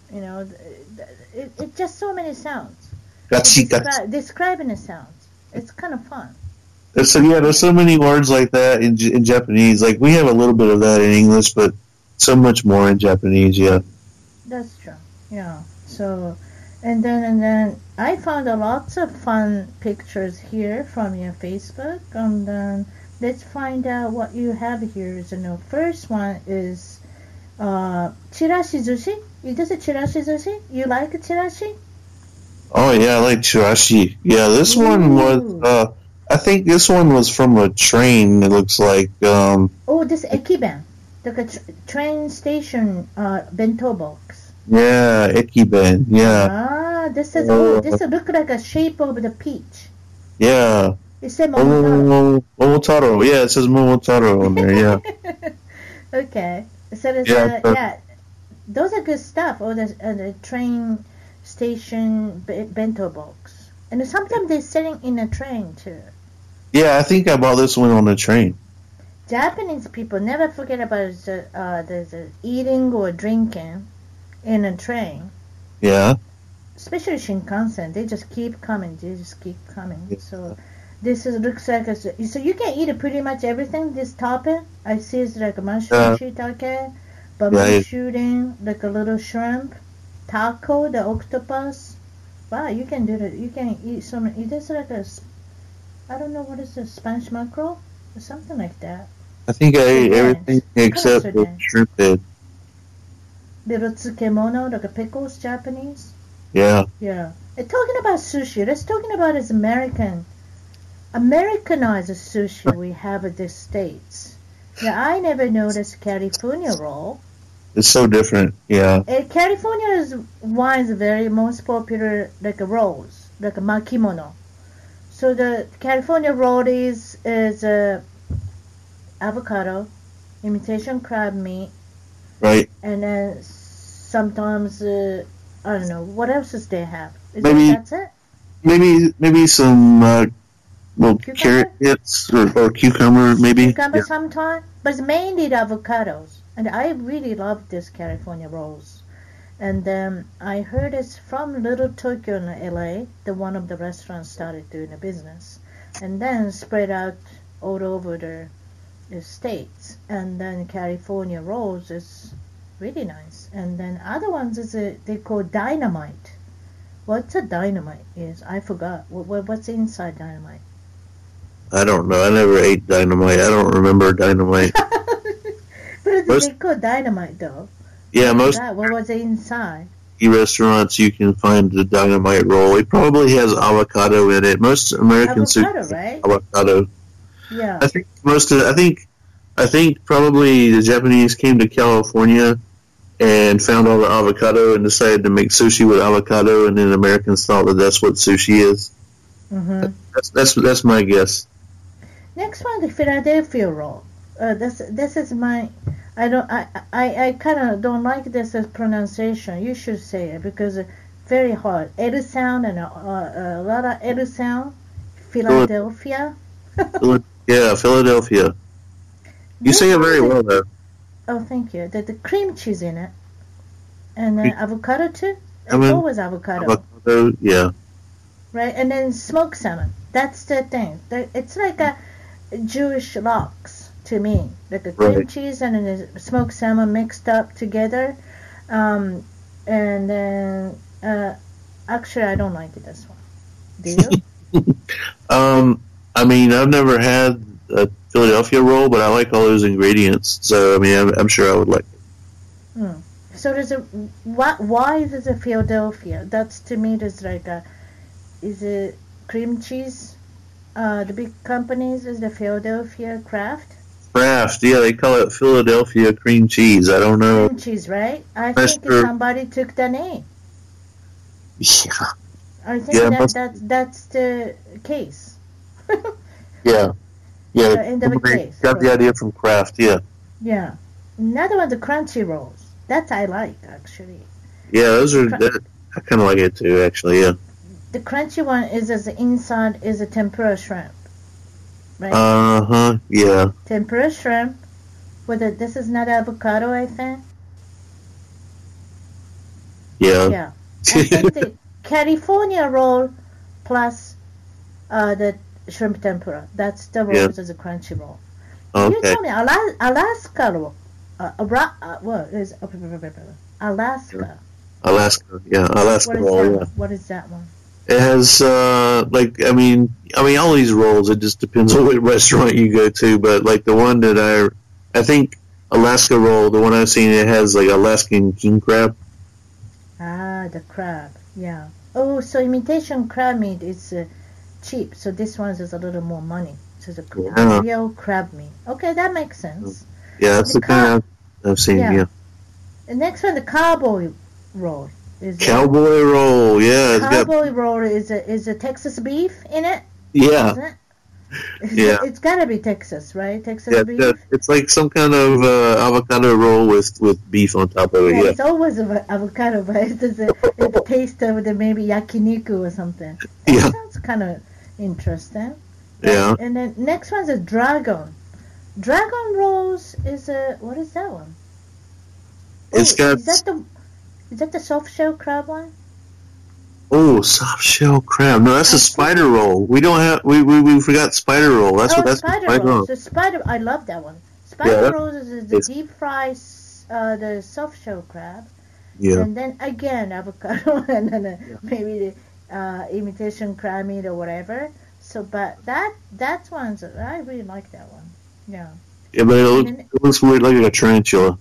It's just so many sounds. Describing the sounds. It's kind of fun. There's so many words like that in Japanese. Like we have a little bit of that in English, but so much more in Japanese. Yeah. That's true. Yeah. So, and then I found lots of fun pictures here from your Facebook, and then let's find out what you have here. So, the first one is chirashi zushi. This is chirashi zushi. You like chirashi? Oh yeah, I like chirashi. Yeah, this one was. I think this one was from a train. It looks like. This ekiben, like a train station bento box. Yeah, ekiben. Yeah. This is this look like a shape of the peach. Yeah. It says Momotaro. Momotaro. Yeah, it says Momotaro on there. Yeah. Okay. So there's those are good stuff. The train station bento box. And sometimes they're sitting in a train too. Yeah, I think I bought this one on the train. Japanese people never forget about the eating or drinking in a train. Yeah. Especially Shinkansen, they just keep coming. Yeah. So this looks like so you can eat pretty much everything. This topping I see is like a mushroom shiitake, bamboo shooting, like a little shrimp, taco, the octopus. Wow, you can do that. You can eat some. It is like I don't know what is the Spanish mackerel or something like that. I think I ate everything except the shrimp head. Little tsukemono, like a pickles, Japanese. Yeah. Yeah. And talking about sushi, let's talking about this Americanized sushi we have at the States. Yeah, I never noticed California roll. It's so different, yeah. California is one of the very most popular like rolls, like a makimono. So the California roll is avocado, imitation crab meat, right? And then sometimes I don't know what else does they have. That's it? Maybe some carrot hits or cucumber maybe. Cucumber sometimes, but it's mainly the avocados. And I really love this California rolls. And I heard it's from Little Tokyo in LA. The one of the restaurants started doing the business, and then spread out all over the states. And then California rolls is really nice. And then other ones is they call dynamite. What's a dynamite is? I forgot. What's inside dynamite? I don't know. I never ate dynamite. I don't remember dynamite. But they call dynamite though. Yeah, what was inside? Restaurants you can find the dynamite roll. It probably has avocado in it. Most American sushi, right? Avocado. Yeah. I think probably the Japanese came to California and found all the avocado and decided to make sushi with avocado, and then Americans thought that that's what sushi is. Mm-hmm. That's my guess. Next one, the Philadelphia roll. This is my. I kind of don't like this pronunciation. You should say it because it's very hard. L sound and a lot of L sound. Philadelphia. Yeah, Philadelphia. You say it very well, though. Oh, thank you. The cream cheese in it, and then avocado too. It's always avocado. Avocado, yeah. Right, and then smoked salmon. That's the thing. It's like a Jewish lox to me, like a cream cheese and then smoked salmon mixed up together. And then actually, I don't like it this one. Do you? I mean, I've never had a Philadelphia roll, but I like all those ingredients. So, I mean, I'm sure I would like it. So there's why is it a Philadelphia? That's to me, there's like is it cream cheese? The big companies is the Philadelphia Kraft. Kraft, yeah, they call it Philadelphia cream cheese. I don't know. Cream cheese, right? I think somebody took the name. Yeah. I think that's the case. Yeah. The case. Got the idea from Kraft, yeah. Yeah. Another one, the crunchy rolls. That I like, actually. Yeah, those are. I kind of like it too, actually. Yeah. The crunchy one is as the inside is a tempura shrimp, right? Yeah. Tempura shrimp. This is not avocado, I think. Yeah. Yeah. I think the California roll plus the shrimp tempura. That's the rolls as a crunchy roll. Okay. You tell me, Alaska roll. What is Alaska? Alaska, yeah, Alaska roll. Yeah. What is that one? It has I mean, all these rolls. It just depends on what restaurant you go to. But like the one that I think Alaska roll, the one I've seen, it has like Alaskan king crab. Ah, the crab. Yeah. Oh, so imitation crab meat is cheap. So this one is a little more money. So it's a real crab meat. Okay, that makes sense. Yeah, that's the kind I've seen. Yeah. The next one, the cowboy roll. Cowboy roll, yeah. Cowboy roll is a Texas beef in it? Yeah. Isn't it? Yeah. It's gotta be Texas, right? Texas beef? It's like some kind of avocado roll with beef on top of it, yeah. It's always avocado, but it's the taste of maybe yakiniku or something. Yeah. Sounds kind of interesting. Yeah. And then next one's a dragon. Dragon rolls is a, what is that one? It's got. Is that the soft shell crab one? Oh, soft shell crab. No, that's a spider roll. We don't have. We forgot spider roll. That's what that's. Spider rolls. The spider. I love that one. Spider rolls is the deep fry, the soft shell crab. Yeah. And then again avocado and then maybe the imitation crab meat or whatever. So, but that one's, I really like that one. Yeah. Yeah, but it looks weird, like a tarantula.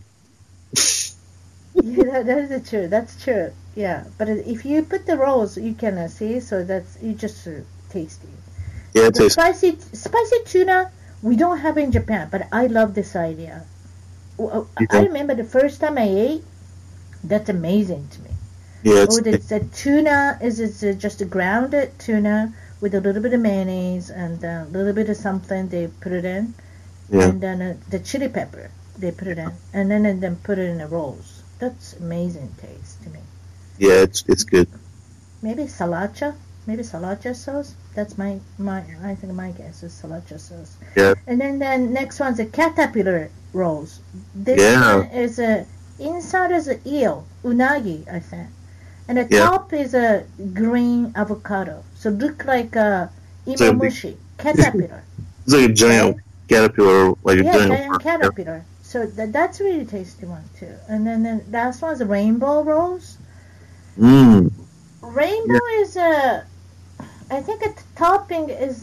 Yeah, that is true. That's true. Yeah, but if you put the rolls, you can see. So that's you just tasty. Yeah, it tastes. Spicy tuna we don't have in Japan, but I love this idea. I remember the first time I ate. That's amazing to me. Yeah, the tuna is just a grounded tuna with a little bit of mayonnaise and a little bit of something they put it in, and then the chili pepper they put it in, and then put it in the rolls. That's amazing taste to me. Yeah, it's good. Maybe sriracha sauce. That's I think my guess is sriracha sauce. Yeah. And then the next one's a caterpillar rolls. This one is inside is an eel, unagi, I think. And the top is a green avocado. So look like a imamushi, caterpillar. It's like a giant caterpillar, giant caterpillar. So that's a really tasty one too. And then the last one's rainbow rolls. Rainbow is I think the topping is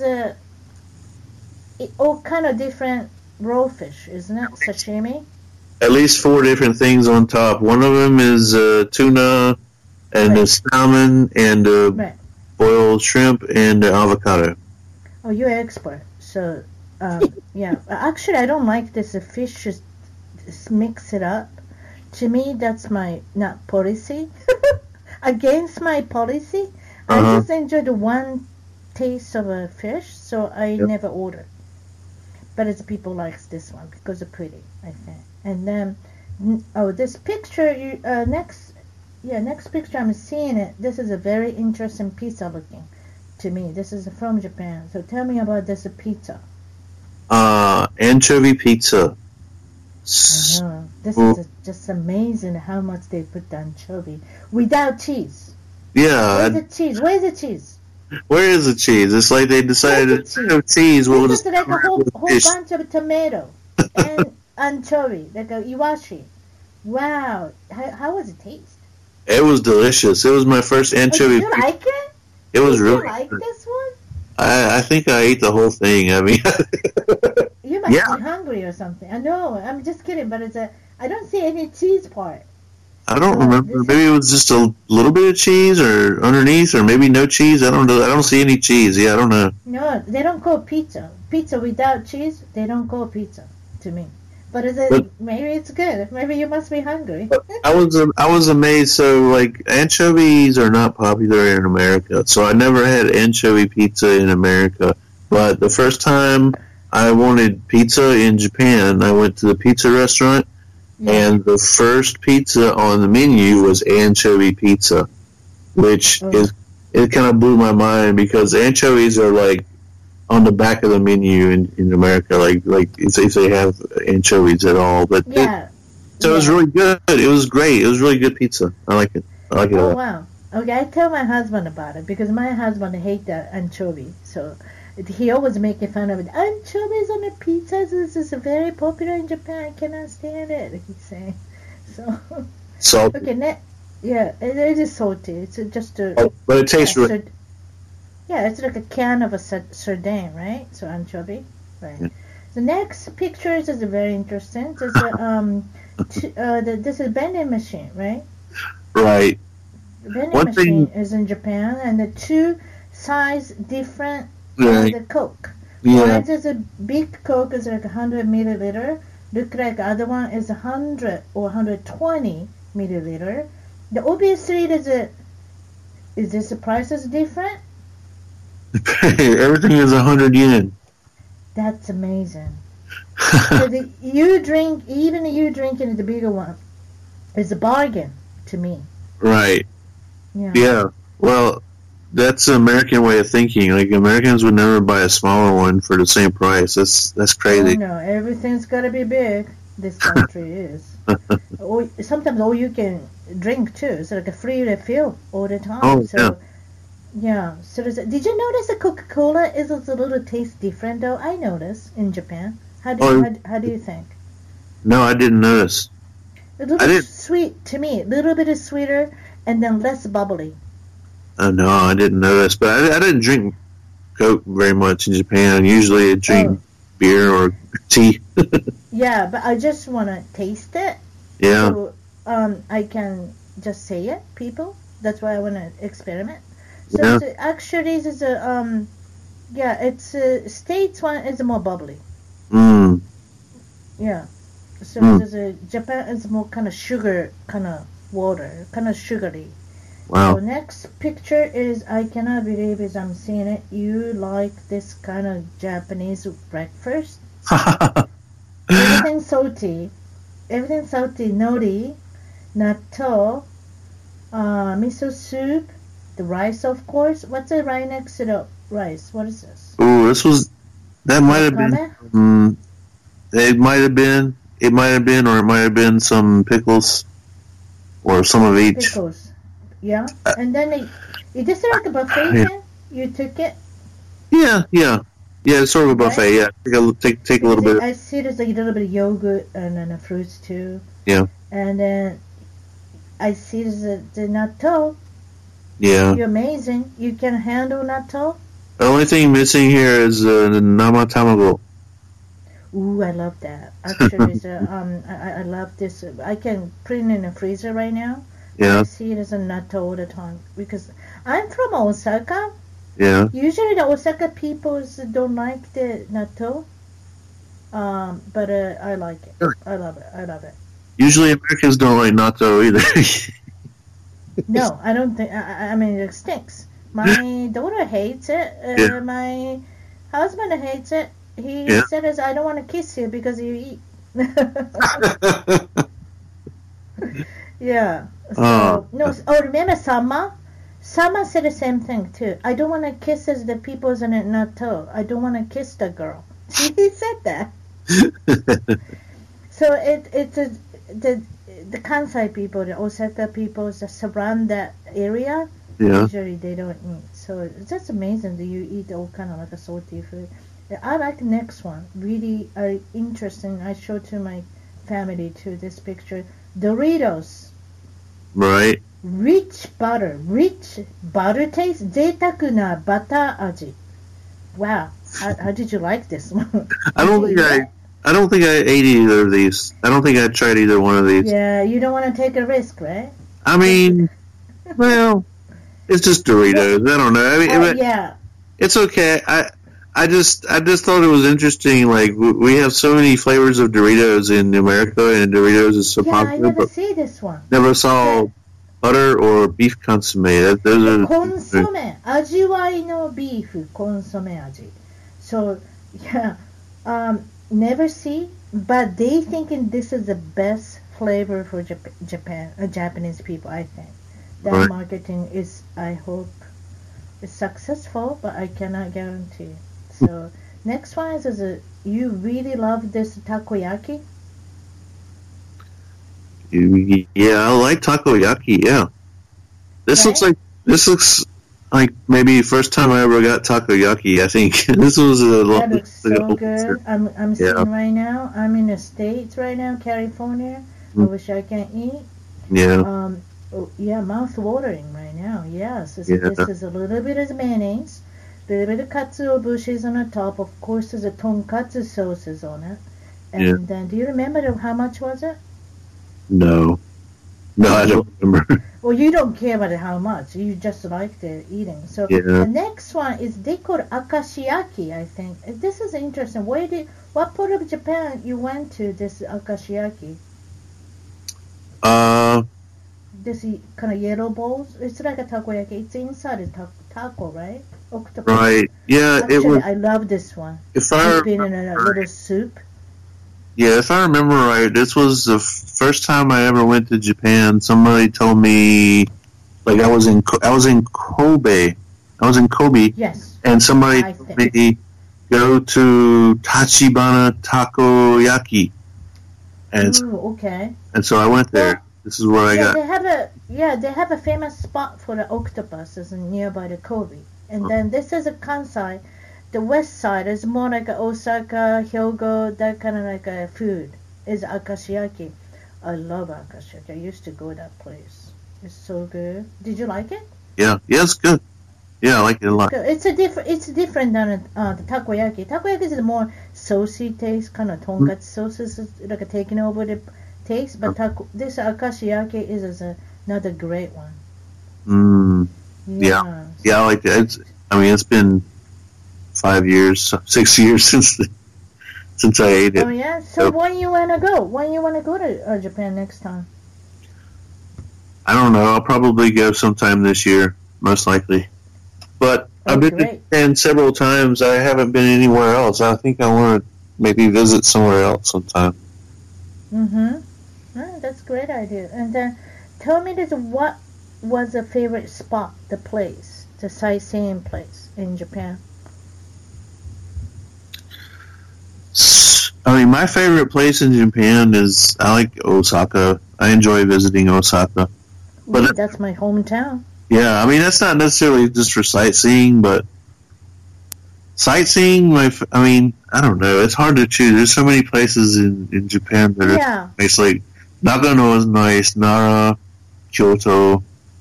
all kind of different raw fish, isn't it? Sashimi. At least 4 different things on top. One of them is tuna and a salmon and boiled shrimp and avocado. Oh, you're an expert. So, yeah. Actually, I don't like this. The fish just mix it up. To me, that's my not policy. Against my policy. I just enjoy the one taste of a fish, so I never order. But it's people likes this one because it's pretty, I think. And then, this picture, next picture I'm seeing it. This is a very interesting pizza looking to me. This is from Japan. So tell me about this pizza. Anchovy pizza. I know. This is just amazing how much they put the anchovy without cheese. Yeah. Where's the cheese? Where's the cheese? Where is the cheese? It's like they decided no cheese. We'll just like a whole bunch of tomato and anchovy, like a iwashi. Wow. How was it taste? It was delicious. It was my first anchovy. Did you like it? It was really. Did you like this one? I think I ate the whole thing. I mean, you must be hungry or something. I know. I'm just kidding, but I don't see any cheese part. I don't remember. Maybe it was just a little bit of cheese, or underneath, or maybe no cheese. I don't know. I don't see any cheese. Yeah, I don't know. No, they don't call pizza. Pizza without cheese, they don't call pizza to me. But maybe it's good. Maybe you must be hungry. I was amazed. So, like, anchovies are not popular in America. So I never had anchovy pizza in America. But the first time I wanted pizza in Japan, I went to the pizza restaurant, and the first pizza on the menu was anchovy pizza, which it kind of blew my mind because anchovies are like on the back of the menu in America, like if they have anchovies at all. But it was really good. It was great. It was really good pizza. I like it. I like it a lot. Wow. Okay, I tell my husband about it because my husband hates the anchovy, so he always making fun of it. Anchovies on the pizza. This is very popular in Japan. I cannot stand it. He's saying so. Salty. Okay, it is salty. It's just but it tastes really. Yeah, it's like a can of a sardine, right? So anchovy, right? Yeah. The next pictures is very interesting. There's this is vending machine, right? Right. The vending machine is in Japan, and the two size different. The Coke. Yeah. One is a big Coke is like 100 milliliter. Look like the other one is 100 or 120 milliliter. Obviously is this the price is different? Everything is 100 yen. That's amazing. So you drinking the bigger one is a bargain to me. Right. Yeah. Yeah. Well, that's an American way of thinking. Like Americans would never buy a smaller one for the same price. That's crazy. No, everything's got to be big. This country is. Sometimes all you can drink too. It's like a free refill all the time. Oh, so, yeah. So did you notice that Coca-Cola is a little taste different though? I noticed in Japan. How do you think? No, I didn't notice. A little sweet to me. A little bit sweeter and then less bubbly. No, I didn't notice. But I didn't drink Coke very much in Japan. Usually I drink beer or tea. Yeah, but I just want to taste it. Yeah. So I can just say it, people. That's why I want to experiment. So actually, this is it's States one is more bubbly. Mm. Yeah. So Japan is more kind of sugar, kind of water, kind of sugary. Wow. So next picture is, I cannot believe it, I'm seeing it. You like this kind of Japanese breakfast? Everything salty, nori, natto, miso soup, the rice, of course. What's the right next to the rice? What is this? Oh, that might have been. It might have been, or it might have been some pickles, or some of each. Pickles, yeah. And then is this like a buffet thing? You took it? Yeah. It's sort of a buffet. Right? Yeah, take a little bit. I see there's a little bit of yogurt and then fruits too. Yeah. And then I see there's the natto. Yeah. You're amazing. You can handle natto. The only thing missing here is the nama tamago. Ooh, I love that. Actually, I love this. I can put it in the freezer right now. Yeah. I see it as a natto all the time because I'm from Osaka. Yeah. Usually the Osaka people don't like the natto, but I like it. I love it. Usually Americans don't like natto either. No, I don't think. I mean, it stinks. My daughter hates it. My husband hates it. He says, "I don't want to kiss you because you eat." Yeah. So, remember Sama? Sama said the same thing too. I don't want to kiss the people's in it natto. I don't want to kiss the girl. He said that. So it's the Kansai people, the Osaka people that surround that area. Yeah. Usually they don't eat. So it's just amazing that you eat all kind of like a salty food. I like the next one. Really interesting. I showed to my family too this picture. Doritos. Right. Rich butter taste. 贅沢なバター味. Wow. How did you like this one? I don't think I ate either of these. I don't think I tried either one of these. Yeah, you don't want to take a risk, right? I mean, well, it's just Doritos. I don't know. I mean, yeah. It's okay. I just thought it was interesting. Like we have so many flavors of Doritos in America, and Doritos is so popular. I never see this one. Never saw butter or beef consomme. Those are consomme. 味わいのビーフ consomme 味. So yeah, never see. But they thinking this is the best flavor for Japanese people. I think that marketing is. I hope is successful, but I cannot guarantee. So next one is you really love this takoyaki? Yeah, I like takoyaki. Yeah, this looks like maybe first time I ever got takoyaki. I think this was that looks so good. I'm seeing right now. I'm in the States right now, California. I wish I can eat. Yeah. Mouth watering right now. Yes, this is a little bit of mayonnaise. A little bit of katsuo bushes on the top. Of course, there's a tonkatsu sauces on it. And then, do you remember how much was it? No, I don't remember. Well, you don't care about how much. You just like the eating. So the next one is they call akashiyaki, I think. This is interesting. What part of Japan you went to this akashiyaki? This kind of yellow balls. It's like a takoyaki. It's inside a taco, right? Octopus. Right. Yeah. Actually, I love this one. It's been in a little soup. Yeah, if I remember right, this was the first time I ever went to Japan. Somebody told me, like I was in Kobe, I was in Kobe. Yes. And somebody told me go to Tachibana Takoyaki. And okay. And so I went there. Well, this is where I got. They have a famous spot for the octopuses nearby the Kobe. And then this is a Kansai. The west side is more like Osaka, Hyogo, that kind of like a food. Is akashiyaki. I love akashiyaki. I used to go to that place. It's so good. Did you like it? Yeah, it's good. Yeah, I like it a lot. It's different than the takoyaki. Takoyaki is more saucy taste, kind of tonkatsu sauce is like taking over the taste. But this akashiyaki is another great one. Yeah, I like it. It's been 5 years, 6 years since I ate it. Oh yeah. So when you wanna go? When you wanna go to Japan next time? I don't know. I'll probably go sometime this year, most likely. But I've been to Japan several times. I haven't been anywhere else. I think I want to maybe visit somewhere else sometime. That's a great idea. And then tell me this: what was a favorite spot, the place, the sightseeing place in Japan? My favorite place in Japan is I like Osaka. I enjoy visiting Osaka. But that's my hometown. Yeah, that's not necessarily just for sightseeing, but sightseeing, I don't know. It's hard to choose. There's so many places in Japan that are nice. Like Nagano is nice, Nara, Kyoto,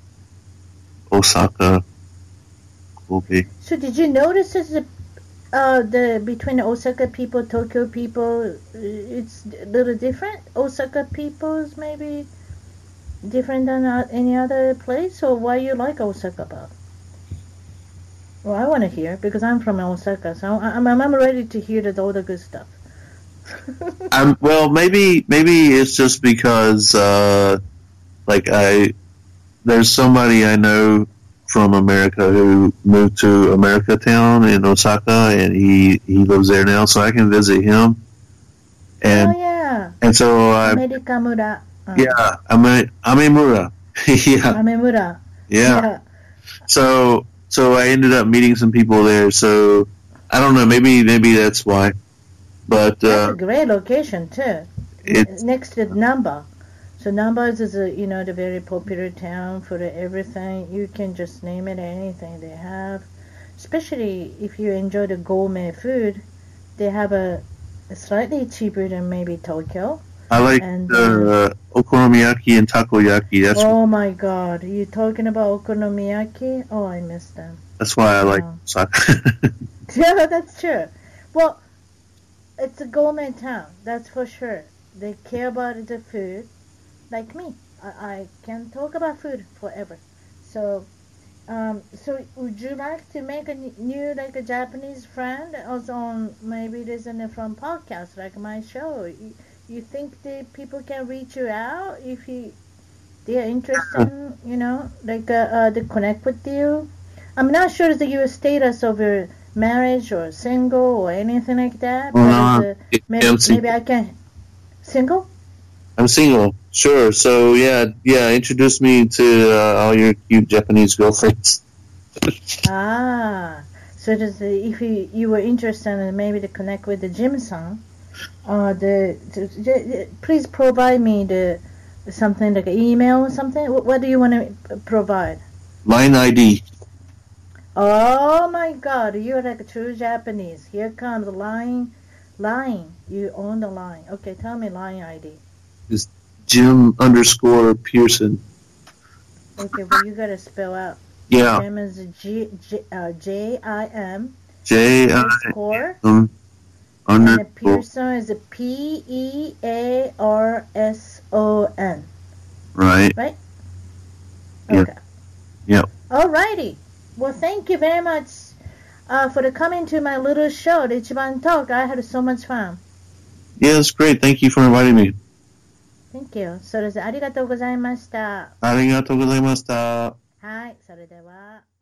Osaka, Kobe. So did you notice the between the Osaka people, Tokyo people, it's a little different? Osaka people's maybe different than any other place, or why you like Osaka about? Well, I want to hear because I'm from Osaka, so I'm ready to hear all the good stuff. Well, maybe it's just because there's somebody I know from America who moved to America Town in Osaka, and he lives there now, so I can visit him. And and so Amerikamura. Yeah, Amemura. Yeah. Amemura. Yeah. So I ended up meeting some people there. So I don't know. Maybe that's why. But that's a great location too. It's next to Namba. So Namba is the very popular town for everything. You can just name it anything they have. Especially if you enjoy the gourmet food, they have a slightly cheaper than maybe Tokyo. I like okonomiyaki and takoyaki. Oh my God! You talking about okonomiyaki? Oh, I miss them. That's why I like Osaka. Yeah, that's true. Well, it's a gourmet town, that's for sure. They care about the food, like me. I can talk about food forever. So would you like to make a new a Japanese friend? Also on maybe listen from podcast like my show. You think the people can reach you out if they are interested in, they connect with you? I'm not sure the your status of your marriage or single or anything like that. But maybe I can. Single? I'm single, sure. So yeah, introduce me to all your cute Japanese girlfriends. So if you were interested in maybe to connect with the Jim-san, please provide me something like an email or something. What do you want to provide? Line ID. Oh my God, you're like a true Japanese. Here comes line. You own the line. Okay, tell me line ID. It's Jim_Pearson. Okay, well you gotta spell out. Yeah. Jim is J-I-M. J-I-M. And the Pearson is a P-E-A-R-S-O-N. Right. Right? Okay. Yep. Alrighty. Well, thank you very much for coming to my little show, the Ichiban Talk. I had so much fun. Yeah, it's great. Thank you for inviting me. Thank you. それでありがとうございました。 ありがとうございました。 はい、それでは。